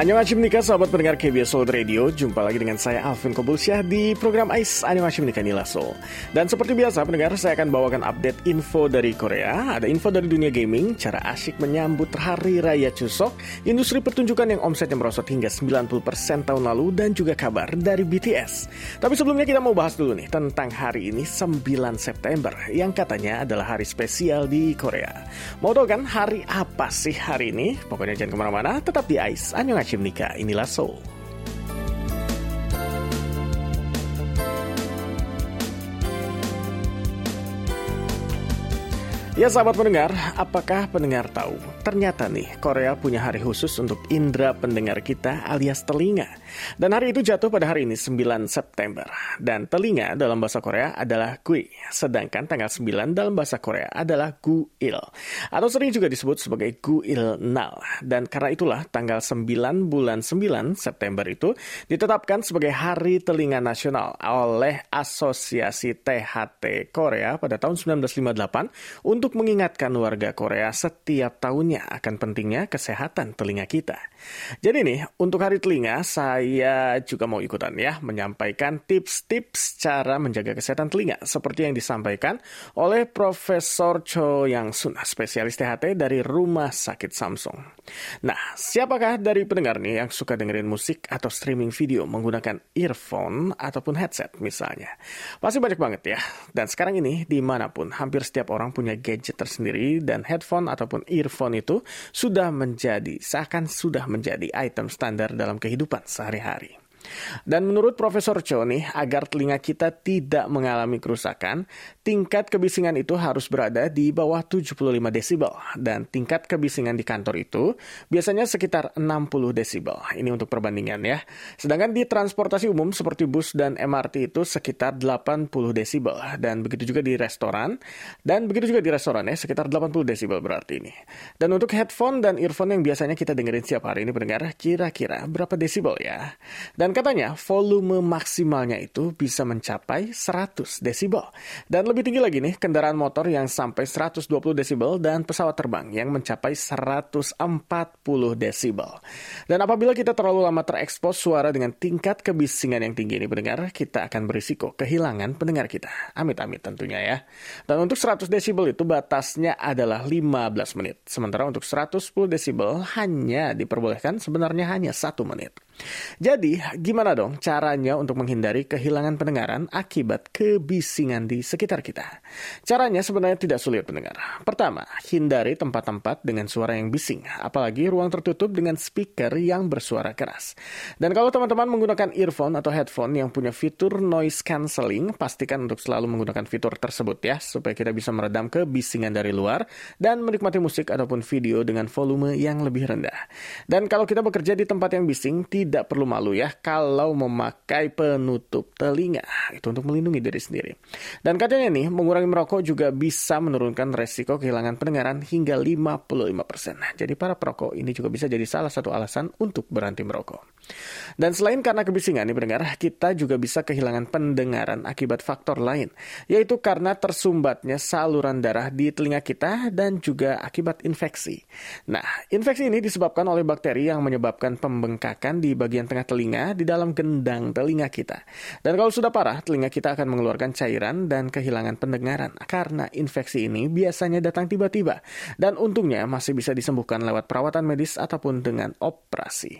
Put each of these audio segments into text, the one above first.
Annyeonghaseyo nika sahabat pendengar KBS World Radio. Jumpa lagi dengan saya Alvin Kobulsyah di program AIS Annyeonghaseyo nika Nilaso. Dan seperti biasa pendengar, saya akan bawakan update info dari Korea. Ada info dari dunia gaming, cara asyik menyambut Hari Raya Chuseok, industri pertunjukan yang omsetnya merosot hingga 90% tahun lalu, dan juga kabar dari BTS. Tapi sebelumnya kita mau bahas dulu nih tentang hari ini 9 September yang katanya adalah hari spesial di Korea. Mau tahu kan hari apa sih hari ini? Pokoknya jangan kemana-mana, tetap di AIS Annyeonghaseyo nika inilah Seoul. Ya sahabat pendengar, apakah pendengar tahu? Ternyata nih, Korea punya hari khusus untuk indera pendengar kita alias telinga. Dan hari itu jatuh pada hari ini 9 September. Dan telinga dalam bahasa Korea adalah gui, sedangkan tanggal 9 dalam bahasa Korea adalah guil. Atau sering juga disebut sebagai guil nal. Dan karena itulah tanggal 9 bulan 9 September itu ditetapkan sebagai Hari Telinga Nasional oleh Asosiasi THT Korea pada tahun 1958 untuk mengingatkan warga Korea setiap tahunnya akan pentingnya kesehatan telinga kita. Jadi nih, untuk Hari Telinga, saya juga mau ikutan ya, menyampaikan tips-tips cara menjaga kesehatan telinga, seperti yang disampaikan oleh Profesor Cho Yang-sun, spesialis THT dari Rumah Sakit Samsung. Nah, siapakah dari pendengar nih yang suka dengerin musik atau streaming video menggunakan earphone ataupun headset misalnya? Pasti banyak banget ya. Dan sekarang ini, dimanapun, hampir setiap orang punya gadget tersendiri, dan headphone ataupun earphone itu seakan sudah menjadi item standar dalam kehidupan sehari-hari. Dan menurut Profesor Cho nih, agar telinga kita tidak mengalami kerusakan, tingkat kebisingan itu harus berada di bawah 75 desibel. Dan tingkat kebisingan di kantor itu biasanya sekitar 60 desibel. Ini untuk perbandingan ya. Sedangkan di transportasi umum seperti bus dan MRT itu sekitar 80 desibel. Dan begitu juga di restoran. Dan begitu juga di restoran ya, sekitar 80 desibel berarti ini. Dan untuk headphone dan earphone yang biasanya kita dengerin setiap hari ini pendengar, kira-kira berapa desibel ya? Dan katanya volume maksimalnya itu bisa mencapai 100 desibel. Dan lebih tinggi lagi nih, kendaraan motor yang sampai 120 desibel dan pesawat terbang yang mencapai 140 desibel. Dan apabila kita terlalu lama terekspos suara dengan tingkat kebisingan yang tinggi ini pendengar, kita akan berisiko kehilangan pendengar kita. Amit-amit tentunya ya. Dan untuk 100 desibel itu batasnya adalah 15 menit. Sementara untuk 110 desibel hanya diperbolehkan sebenarnya hanya 1 menit. Jadi, gimana dong caranya untuk menghindari kehilangan pendengaran akibat kebisingan di sekitar kita? Caranya sebenarnya tidak sulit pendengar. Pertama, hindari tempat-tempat dengan suara yang bising, apalagi ruang tertutup dengan speaker yang bersuara keras. Dan kalau teman-teman menggunakan earphone atau headphone yang punya fitur noise cancelling, pastikan untuk selalu menggunakan fitur tersebut ya, supaya kita bisa meredam kebisingan dari luar dan menikmati musik ataupun video dengan volume yang lebih rendah. Dan kalau kita bekerja di tempat yang bising, tidak perlu malu ya kalau memakai penutup telinga. Itu untuk melindungi diri sendiri. Dan katanya nih, mengurangi merokok juga bisa menurunkan resiko kehilangan pendengaran hingga 55%. Jadi para perokok ini juga bisa jadi salah satu alasan untuk berhenti merokok. Dan selain karena kebisingan nih pendengar, kita juga bisa kehilangan pendengaran akibat faktor lain, yaitu karena tersumbatnya saluran darah di telinga kita dan juga akibat infeksi. Nah, infeksi ini disebabkan oleh bakteri yang menyebabkan pembengkakan di bagian tengah telinga di dalam gendang telinga kita. Dan kalau sudah parah, telinga kita akan mengeluarkan cairan dan kehilangan pendengaran. Karena infeksi ini biasanya datang tiba-tiba. Dan untungnya masih bisa disembuhkan lewat perawatan medis ataupun dengan operasi.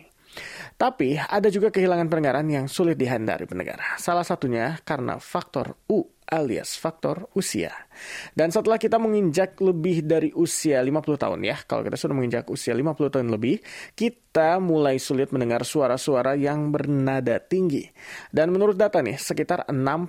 Tapi ada juga kehilangan pendengaran yang sulit dihindari pendengar. Salah satunya karena faktor U alias faktor usia. Dan setelah kita menginjak lebih dari usia 50 tahun ya, kalau kita sudah menginjak usia 50 tahun lebih, kita mulai sulit mendengar suara-suara yang bernada tinggi. Dan menurut data nih, sekitar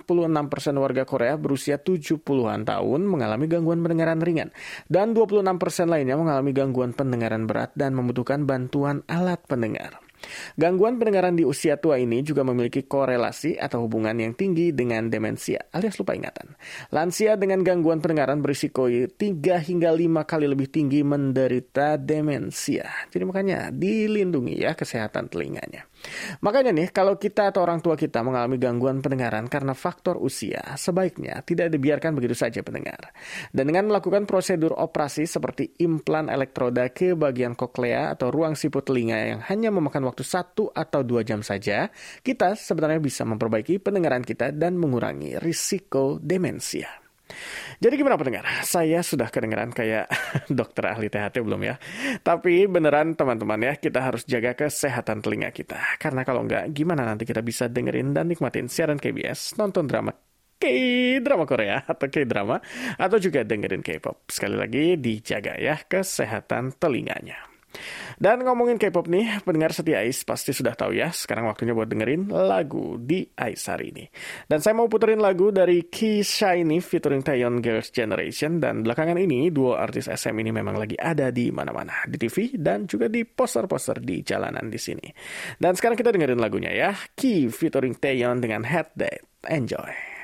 66% warga Korea berusia 70-an tahun mengalami gangguan pendengaran ringan. Dan 26% lainnya mengalami gangguan pendengaran berat dan membutuhkan bantuan alat pendengar. Gangguan pendengaran di usia tua ini juga memiliki korelasi atau hubungan yang tinggi dengan demensia alias lupa ingatan. Lansia dengan gangguan pendengaran berisiko 3 hingga 5 kali lebih tinggi menderita demensia. Jadi makanya dilindungi ya kesehatan telinganya. Makanya nih, kalau kita atau orang tua kita mengalami gangguan pendengaran karena faktor usia, sebaiknya tidak dibiarkan begitu saja pendengar. Dan dengan melakukan prosedur operasi seperti implan elektroda ke bagian koklea atau ruang siput telinga yang hanya memakan waktu 1 atau 2 jam saja, kita sebenarnya bisa memperbaiki pendengaran kita dan mengurangi risiko demensia. Jadi gimana pendengar? Saya sudah kedengaran kayak dokter ahli THT belum ya? Tapi beneran teman-teman ya, kita harus jaga kesehatan telinga kita. Karena kalau enggak, gimana nanti kita bisa dengerin dan nikmatin siaran KBS, nonton drama K-drama Korea atau K-drama, atau juga dengerin K-pop. Sekali lagi, dijaga ya kesehatan telinganya. Dan ngomongin K-pop nih, pendengar setia Ais pasti sudah tahu ya, sekarang waktunya buat dengerin lagu di Ais hari ini. Dan saya mau puterin lagu dari Key Shiny featuring Taeyeon Girls' Generation, dan belakangan ini duo artis SM ini memang lagi ada di mana-mana, di TV dan juga di poster-poster di jalanan di sini. Dan sekarang kita dengerin lagunya ya, Key featuring Taeyeon dengan Head Date. Enjoy.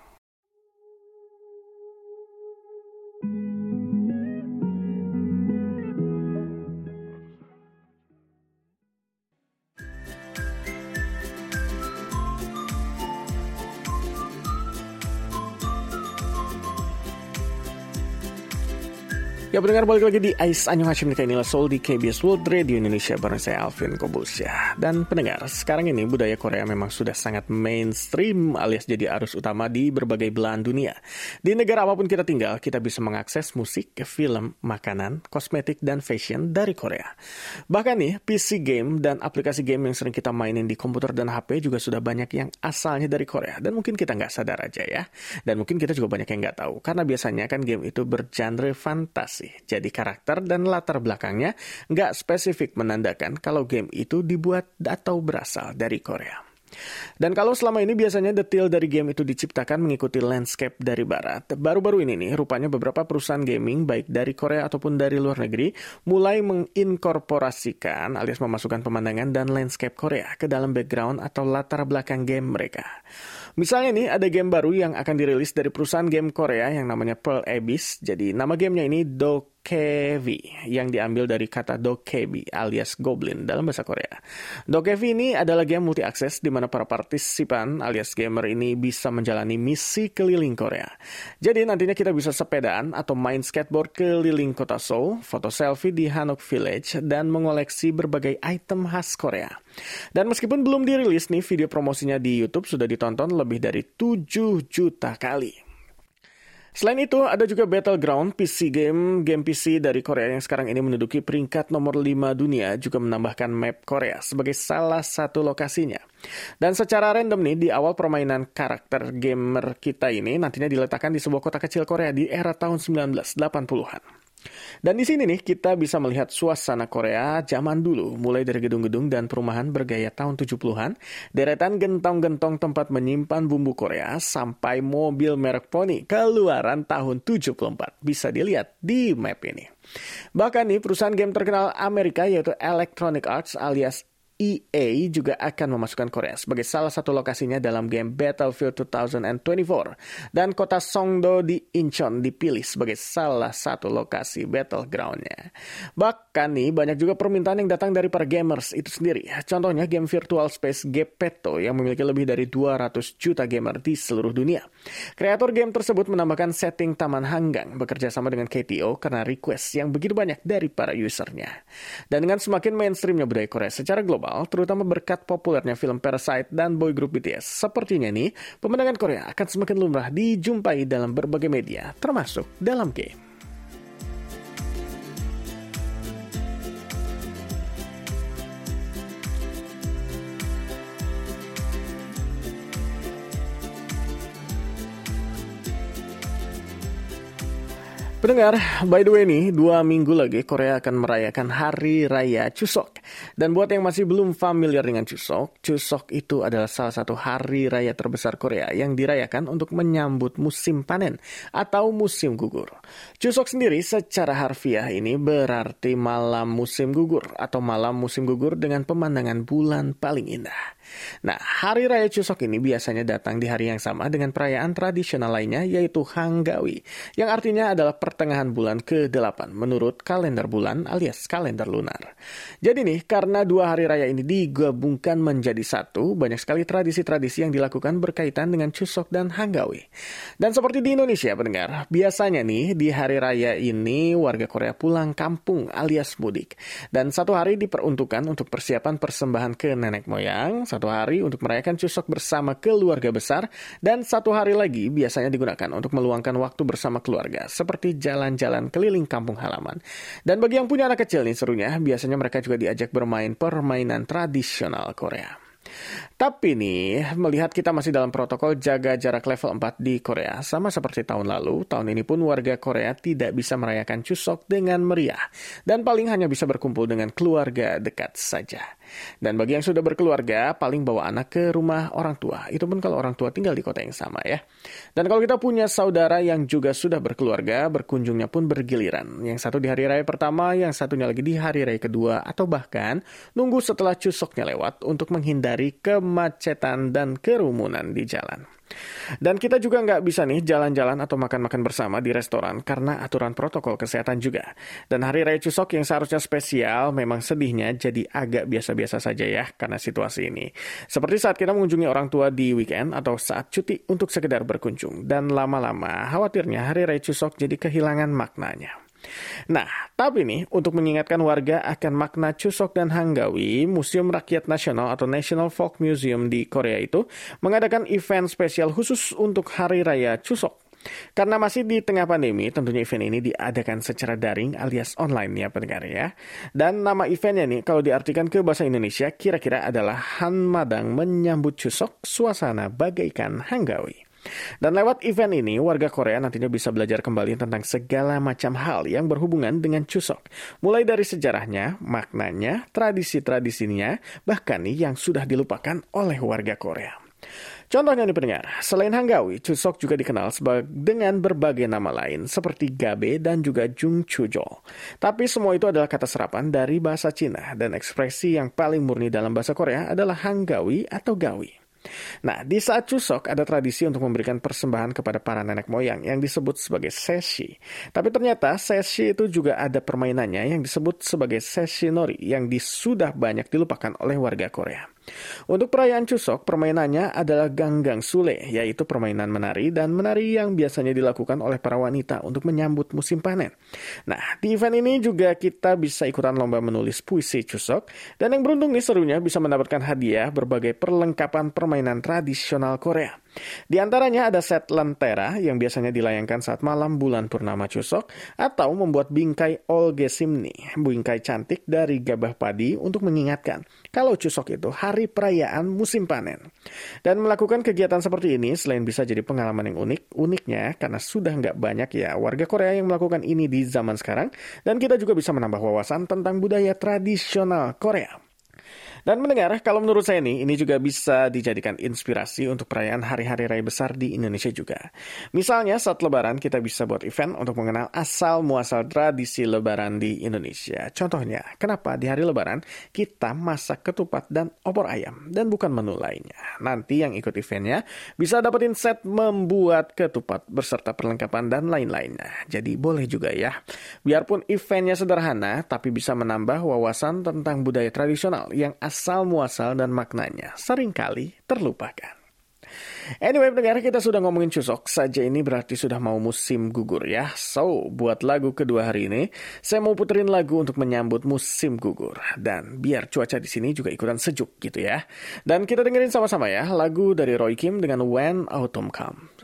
Ya pendengar, balik lagi di Ais Anyong Hashim Nika inilah Soul di KBS World Radio Indonesia bareng saya Alvin Kobus ya. Dan pendengar, sekarang ini budaya Korea memang sudah sangat mainstream alias jadi arus utama di berbagai belahan dunia. Di negara apapun kita tinggal, kita bisa mengakses musik, film, makanan, kosmetik, dan fashion dari Korea. Bahkan nih, PC game dan aplikasi game yang sering kita mainin di komputer dan HP juga sudah banyak yang asalnya dari Korea. Dan mungkin kita nggak sadar aja ya. Dan mungkin kita juga banyak yang nggak tahu. Karena biasanya kan game itu bergenre fantasi. Jadi karakter dan latar belakangnya nggak spesifik menandakan kalau game itu dibuat atau berasal dari Korea. Dan kalau selama ini biasanya detail dari game itu diciptakan mengikuti landscape dari barat, baru-baru ini nih rupanya beberapa perusahaan gaming baik dari Korea ataupun dari luar negeri mulai menginkorporasikan alias memasukkan pemandangan dan landscape Korea ke dalam background atau latar belakang game mereka. Misalnya nih ada game baru yang akan dirilis dari perusahaan game Korea yang namanya Pearl Abyss. Jadi nama gamenya ini Dokevi yang diambil dari kata Dokebi alias Goblin dalam bahasa Korea. Dokevi ini adalah game multi-akses di mana para partisipan alias gamer ini bisa menjalani misi keliling Korea. Jadi nantinya kita bisa sepedaan atau main skateboard keliling kota Seoul, foto selfie di Hanok Village, dan mengoleksi berbagai item khas Korea. Dan meskipun belum dirilis nih, video promosinya di YouTube sudah ditonton lebih dari 7 juta kali. Selain itu, ada juga Battleground, PC game PC dari Korea yang sekarang ini menduduki peringkat nomor 5 dunia, juga menambahkan map Korea sebagai salah satu lokasinya. Dan secara random nih, di awal permainan karakter gamer kita ini nantinya diletakkan di sebuah kota kecil Korea di era tahun 1980-an. Dan di sini nih kita bisa melihat suasana Korea zaman dulu, mulai dari gedung-gedung dan perumahan bergaya tahun 70-an, deretan gentong-gentong tempat menyimpan bumbu Korea, sampai mobil merek Pony keluaran tahun 74. Bisa dilihat di map ini. Bahkan nih perusahaan game terkenal Amerika yaitu Electronic Arts alias EA juga akan memasukkan Korea sebagai salah satu lokasinya dalam game Battlefield 2024. Dan kota Songdo di Incheon dipilih sebagai salah satu lokasi battleground-nya. Bahkan nih banyak juga permintaan yang datang dari para gamers itu sendiri. Contohnya game virtual space Gepetto yang memiliki lebih dari 200 juta gamer di seluruh dunia. Kreator game tersebut menambahkan setting Taman Hanggang bekerja sama dengan KTO karena request yang begitu banyak dari para usernya. Dan dengan semakin mainstreamnya budaya Korea secara global, terutama berkat populernya film Parasite dan boy group BTS. Sepertinya nih, pemandangan Korea akan semakin lumrah dijumpai dalam berbagai media, termasuk dalam game. Pendengar, by the way nih, 2 minggu lagi Korea akan merayakan Hari Raya Chuseok. Dan buat yang masih belum familiar dengan Chuseok, Chuseok itu adalah salah satu hari raya terbesar Korea yang dirayakan untuk menyambut musim panen atau musim gugur. Chuseok sendiri secara harfiah ini berarti malam musim gugur atau malam musim gugur dengan pemandangan bulan paling indah. Nah, Hari Raya Chuseok ini biasanya datang di hari yang sama dengan perayaan tradisional lainnya yaitu Hanggawi, yang artinya adalah pertengahan bulan ke-8 menurut kalender bulan alias kalender lunar. Jadi nih, karena dua hari raya ini digabungkan menjadi satu, banyak sekali tradisi-tradisi yang dilakukan berkaitan dengan Chuseok dan Hanggawi. Dan seperti di Indonesia, pendengar, biasanya nih di hari raya ini warga Korea pulang kampung alias mudik. Dan satu hari diperuntukkan untuk persiapan persembahan ke nenek moyang, satu hari untuk merayakan Chuseok bersama keluarga besar, dan satu hari lagi biasanya digunakan untuk meluangkan waktu bersama keluarga, seperti jalan-jalan keliling kampung halaman. Dan bagi yang punya anak kecil nih serunya, biasanya mereka juga diajak bermain permainan tradisional Korea. Tapi nih, melihat kita masih dalam protokol jaga jarak level 4 di Korea, sama seperti tahun lalu, tahun ini pun warga Korea tidak bisa merayakan Chuseok dengan meriah, dan paling hanya bisa berkumpul dengan keluarga dekat saja. Dan bagi yang sudah berkeluarga, paling bawa anak ke rumah orang tua, itu pun kalau orang tua tinggal di kota yang sama ya. Dan kalau kita punya saudara yang juga sudah berkeluarga, berkunjungnya pun bergiliran. Yang satu di hari raya pertama, yang satunya lagi di hari raya kedua, atau bahkan nunggu setelah Chuseoknya lewat untuk menghindari kemacetan dan kerumunan di jalan. Dan kita juga nggak bisa nih jalan-jalan atau makan-makan bersama di restoran karena aturan protokol kesehatan juga. Dan hari raya Chuseok yang seharusnya spesial memang sedihnya jadi agak biasa-biasa saja ya karena situasi ini. Seperti saat kita mengunjungi orang tua di weekend atau saat cuti untuk sekedar berkunjung. Dan lama-lama khawatirnya hari raya Chuseok jadi kehilangan maknanya. Nah, tapi nih, untuk mengingatkan warga akan makna Chuseok dan Hanggawi, Museum Rakyat Nasional atau National Folk Museum di Korea itu mengadakan event spesial khusus untuk Hari Raya Chuseok. Karena masih di tengah pandemi, tentunya event ini diadakan secara daring alias online ya pendengar ya. Dan nama eventnya nih, kalau diartikan ke bahasa Indonesia, kira-kira adalah Hanmadang Menyambut Chuseok, Suasana Bagaikan Hanggawi. Dan lewat event ini, warga Korea nantinya bisa belajar kembali tentang segala macam hal yang berhubungan dengan Chuseok. Mulai dari sejarahnya, maknanya, tradisi-tradisinya, bahkan nih yang sudah dilupakan oleh warga Korea. Contohnya nih pendengar, selain Hanggawi, Chuseok juga dikenal dengan berbagai nama lain seperti Gabe dan juga Jungchujol. Tapi semua itu adalah kata serapan dari bahasa Cina dan ekspresi yang paling murni dalam bahasa Korea adalah Hanggawi atau Gawi. Nah, di saat Chuseok ada tradisi untuk memberikan persembahan kepada para nenek moyang yang disebut sebagai seshi. Tapi ternyata seshi itu juga ada permainannya yang disebut sebagai seshi nori yang sudah banyak dilupakan oleh warga Korea. Untuk perayaan Chuseok, permainannya adalah ganggang sule, yaitu permainan menari dan menari yang biasanya dilakukan oleh para wanita untuk menyambut musim panen. Nah, di event ini juga kita bisa ikutan lomba menulis puisi Chuseok, dan yang beruntung nih serunya bisa mendapatkan hadiah berbagai perlengkapan permainan tradisional Korea. Di antaranya ada set lentera yang biasanya dilayangkan saat malam bulan purnama Chuseok, atau membuat bingkai olgesimni, bingkai cantik dari gabah padi untuk mengingatkan kalau Chuseok itu hari perayaan musim panen. Dan melakukan kegiatan seperti ini selain bisa jadi pengalaman yang uniknya karena sudah nggak banyak ya warga Korea yang melakukan ini di zaman sekarang, dan kita juga bisa menambah wawasan tentang budaya tradisional Korea. Dan mendengar, kalau menurut saya nih, ini juga bisa dijadikan inspirasi untuk perayaan hari-hari raya besar di Indonesia juga. Misalnya saat Lebaran kita bisa buat event untuk mengenal asal-muasal tradisi Lebaran di Indonesia. Contohnya, kenapa di hari Lebaran kita masak ketupat dan opor ayam dan bukan menu lainnya. Nanti yang ikut eventnya bisa dapetin set membuat ketupat beserta perlengkapan dan lain-lainnya. Jadi boleh juga ya. Biarpun eventnya sederhana, tapi bisa menambah wawasan tentang budaya tradisional yang asal-muasal dan maknanya seringkali terlupakan. Anyway, pendengar, kita sudah ngomongin Chuseok saja ini berarti sudah mau musim gugur ya. So, buat lagu kedua hari ini, saya mau puterin lagu untuk menyambut musim gugur. Dan biar cuaca di sini juga ikutan sejuk gitu ya. Dan kita dengerin sama-sama ya, lagu dari Roy Kim dengan When Autumn Comes.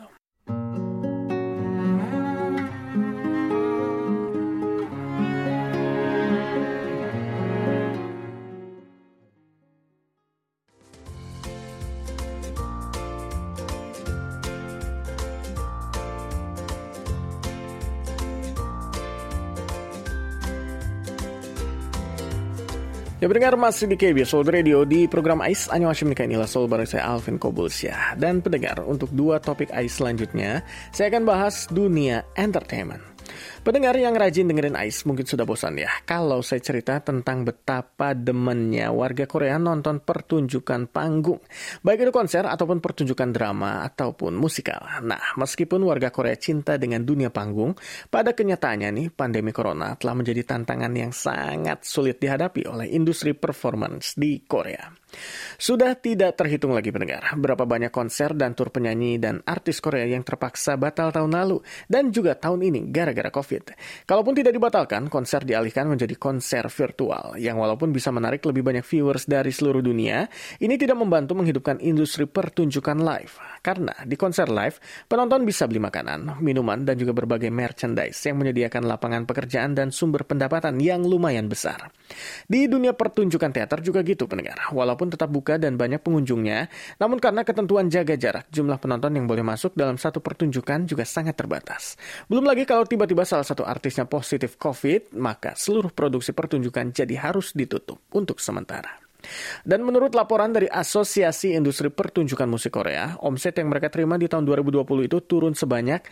Ya pendengar, masih di KBS World Radio di program AIS Anyo Hashim Nikahin Ila Sol bareng saya Alvin Kobulsyah. Dan pendengar, untuk dua topik AIS selanjutnya saya akan bahas dunia entertainment. Pendengar yang rajin dengerin Ais mungkin sudah bosan ya kalau saya cerita tentang betapa demennya warga Korea nonton pertunjukan panggung. Baik itu konser ataupun pertunjukan drama ataupun musikal. Nah, meskipun warga Korea cinta dengan dunia panggung, pada kenyataannya nih pandemi corona telah menjadi tantangan yang sangat sulit dihadapi oleh industri performance di Korea. Sudah tidak terhitung lagi pendengar, berapa banyak konser dan tur penyanyi dan artis Korea yang terpaksa batal tahun lalu dan juga tahun ini gara-gara COVID. Kalaupun tidak dibatalkan, konser dialihkan menjadi konser virtual yang walaupun bisa menarik lebih banyak viewers dari seluruh dunia, ini tidak membantu menghidupkan industri pertunjukan live. Karena di konser live, penonton bisa beli makanan, minuman, dan juga berbagai merchandise yang menyediakan lapangan pekerjaan dan sumber pendapatan yang lumayan besar. Di dunia pertunjukan teater juga gitu pendengar, walaupun tetap buka dan banyak pengunjungnya, namun karena ketentuan jaga jarak, jumlah penonton yang boleh masuk dalam satu pertunjukan juga sangat terbatas. Belum lagi kalau tiba-tiba salah satu artisnya positif COVID, maka seluruh produksi pertunjukan jadi harus ditutup untuk sementara. Dan menurut laporan dari Asosiasi Industri Pertunjukan Musik Korea, omset yang mereka terima di tahun 2020 itu turun sebanyak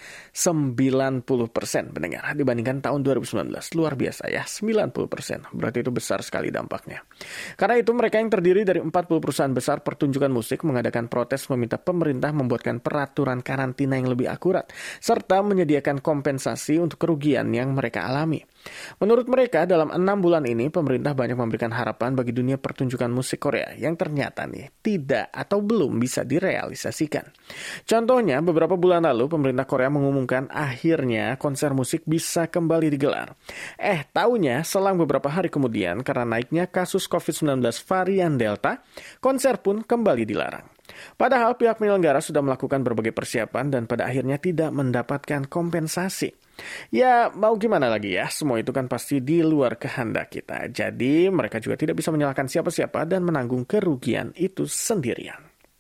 90% pendengar dibandingkan tahun 2019. Luar biasa ya, 90%. Berarti itu besar sekali dampaknya. Karena itu mereka yang terdiri dari 40 perusahaan besar pertunjukan musik mengadakan protes meminta pemerintah membuatkan peraturan karantina yang lebih akurat, serta menyediakan kompensasi untuk kerugian yang mereka alami. Menurut mereka, dalam 6 bulan ini, pemerintah banyak memberikan harapan bagi dunia pertunjukan musik Korea yang ternyata nih tidak atau belum bisa direalisasikan. Contohnya, beberapa bulan lalu, pemerintah Korea mengumumkan akhirnya konser musik bisa kembali digelar. Taunya, selang beberapa hari kemudian, karena naiknya kasus COVID-19 varian Delta, konser pun kembali dilarang. Padahal pihak penyelenggara sudah melakukan berbagai persiapan dan pada akhirnya tidak mendapatkan kompensasi. Ya, mau gimana lagi ya, semua itu kan pasti di luar kehendak kita. Jadi, mereka juga tidak bisa menyalahkan siapa-siapa dan menanggung kerugian itu sendirian.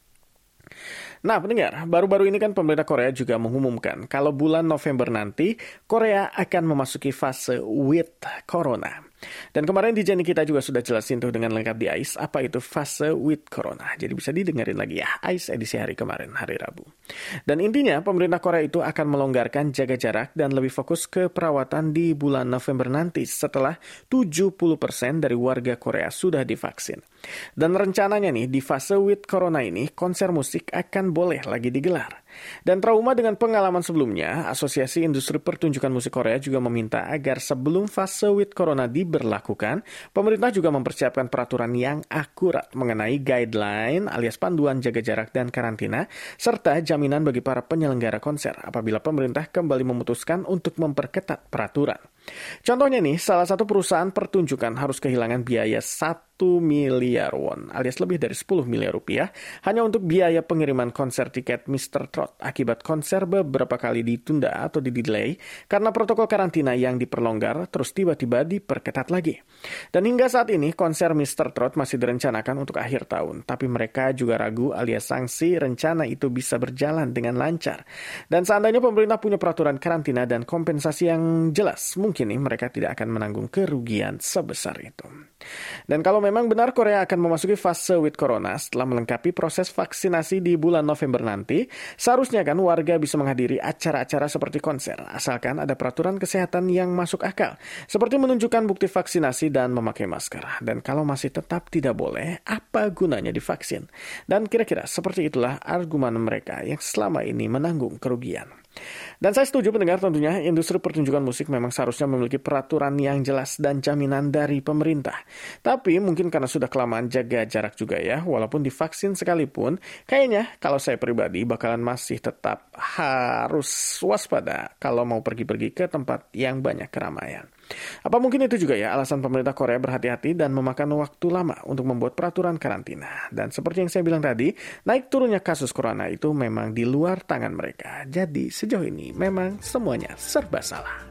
Nah, pendengar, baru-baru ini kan pemerintah Korea juga mengumumkan kalau bulan November nanti, Korea akan memasuki fase with Corona. Dan kemarin di Jenny kita juga sudah jelasin tuh dengan lengkap di AIS apa itu fase with Corona. Jadi bisa didengerin lagi ya, AIS edisi hari kemarin, hari Rabu. Dan intinya pemerintah Korea itu akan melonggarkan jaga jarak dan lebih fokus ke perawatan di bulan November nanti setelah 70% dari warga Korea sudah divaksin. Dan rencananya nih di fase with Corona ini konser musik akan boleh lagi digelar. Dan trauma dengan pengalaman sebelumnya, Asosiasi Industri Pertunjukan Musik Korea juga meminta agar sebelum fase with Corona diberlakukan, pemerintah juga mempersiapkan peraturan yang akurat mengenai guideline alias panduan jaga jarak dan karantina, serta jaminan bagi para penyelenggara konser apabila pemerintah kembali memutuskan untuk memperketat peraturan. Contohnya nih, salah satu perusahaan pertunjukan harus kehilangan biaya 1 miliar won alias lebih dari 10 miliar rupiah hanya untuk biaya pengiriman konser tiket Mr. Trot akibat konser beberapa kali ditunda atau di-delay karena protokol karantina yang diperlonggar terus tiba-tiba diperketat lagi. Dan hingga saat ini konser Mr. Trot masih direncanakan untuk akhir tahun, tapi mereka juga ragu alias sanksi rencana itu bisa berjalan dengan lancar. Dan seandainya pemerintah punya peraturan karantina dan kompensasi yang jelas, mungkin nih mereka tidak akan menanggung kerugian sebesar itu. Dan kalau memang benar Korea akan memasuki fase with Corona setelah melengkapi proses vaksinasi di bulan November nanti, seharusnya kan warga bisa menghadiri acara-acara seperti konser, asalkan ada peraturan kesehatan yang masuk akal, seperti menunjukkan bukti vaksinasi dan memakai masker. Dan kalau masih tetap tidak boleh, apa gunanya divaksin? Dan kira-kira seperti itulah argumen mereka yang selama ini menanggung kerugian. Dan saya setuju pendengar, tentunya industri pertunjukan musik memang seharusnya memiliki peraturan yang jelas dan jaminan dari pemerintah. Tapi mungkin karena sudah kelamaan jaga jarak juga ya, walaupun divaksin sekalipun, kayaknya kalau saya pribadi bakalan masih tetap harus waspada kalau mau pergi-pergi ke tempat yang banyak keramaian. Apa mungkin itu juga ya alasan pemerintah Korea berhati-hati dan memakan waktu lama untuk membuat peraturan karantina. Dan seperti yang saya bilang tadi, naik turunnya kasus corona itu memang di luar tangan mereka. Jadi sejauh ini memang semuanya serba salah.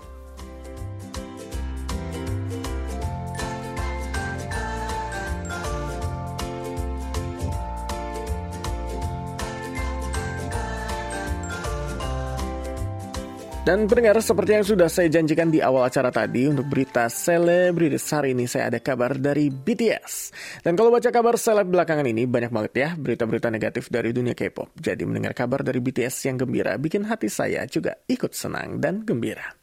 Dan pendengar, seperti yang sudah saya janjikan di awal acara tadi, untuk berita selebritis hari ini saya ada kabar dari BTS. Dan kalau baca kabar seleb belakangan ini, banyak banget ya berita-berita negatif dari dunia K-pop. Jadi mendengar kabar dari BTS yang gembira bikin hati saya juga ikut senang dan gembira.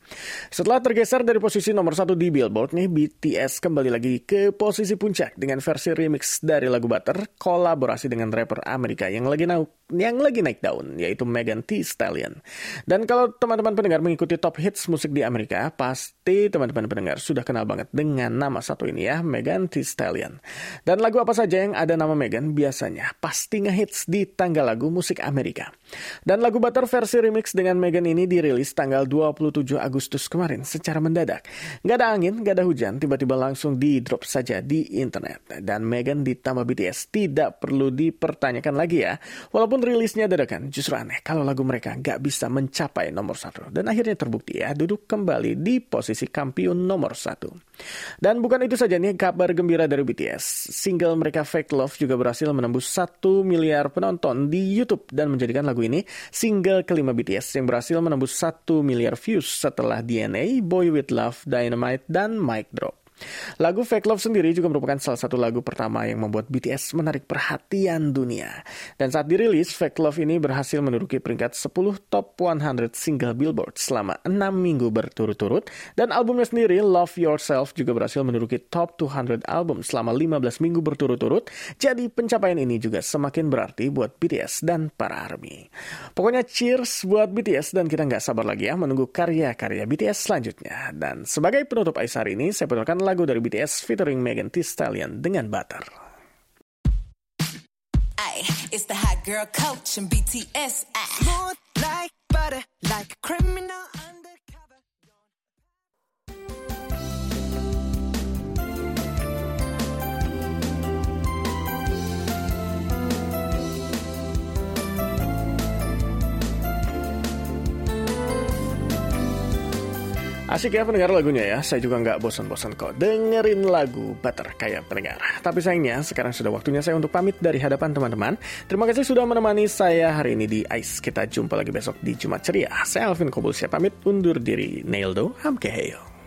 Setelah tergeser dari posisi nomor 1 di Billboard nih, BTS kembali lagi ke posisi puncak dengan versi remix dari lagu Butter, kolaborasi dengan rapper Amerika yang lagi naik daun, yaitu Megan Thee Stallion. Dan kalau teman-teman pendengar mengikuti top hits musik di Amerika, pasti teman-teman pendengar sudah kenal banget dengan nama satu ini ya, Megan Thee Stallion. Dan lagu apa saja yang ada nama Megan biasanya pasti ngehits di tanggal lagu musik Amerika. Dan lagu Butter versi remix dengan Megan ini dirilis tanggal 27 Agustus kemarin secara mendadak. Gak ada angin, gak ada hujan, tiba-tiba langsung di-drop saja di internet. Dan Megan ditambah BTS tidak perlu dipertanyakan lagi ya. Walaupun rilisnya dadakan, justru aneh kalau lagu mereka gak bisa mencapai nomor 1. Dan akhirnya terbukti ya, duduk kembali di posisi kampiun nomor 1. Dan bukan itu saja nih kabar gembira dari BTS. Single mereka Fake Love juga berhasil menembus 1 miliar penonton di YouTube dan menjadikan lagu ini single kelima BTS yang berhasil menembus 1 miliar views setelah DNA, Boy With Love, Dynamite, dan Mic Drop. Lagu Fake Love sendiri juga merupakan salah satu lagu pertama yang membuat BTS menarik perhatian dunia. Dan saat dirilis, Fake Love ini berhasil menduduki peringkat 10 top 100 single Billboard selama 6 minggu berturut-turut. Dan albumnya sendiri, Love Yourself, juga berhasil menduduki top 200 album selama 15 minggu berturut-turut. Jadi pencapaian ini juga semakin berarti buat BTS dan para ARMY. Pokoknya cheers buat BTS dan kita nggak sabar lagi ya menunggu karya-karya BTS selanjutnya. Dan sebagai penutup Ais hari ini, saya putarkan lagu dari BTS featuring Megan Thee Stallion dengan Butter. Ay, it's the hot girl coach and BTS. Smooth like butter, like a criminal undercover. Asik ya pendengar lagunya ya, saya juga nggak bosan-bosan kok dengerin lagu Butter kayak pendengar. Tapi sayangnya sekarang sudah waktunya saya untuk pamit dari hadapan teman-teman. Terima kasih sudah menemani saya hari ini di Ais. Kita jumpa lagi besok di Jumat Ceria. Saya Alvin Kobulsyah pamit undur diri. Naildo, hamkeheyo.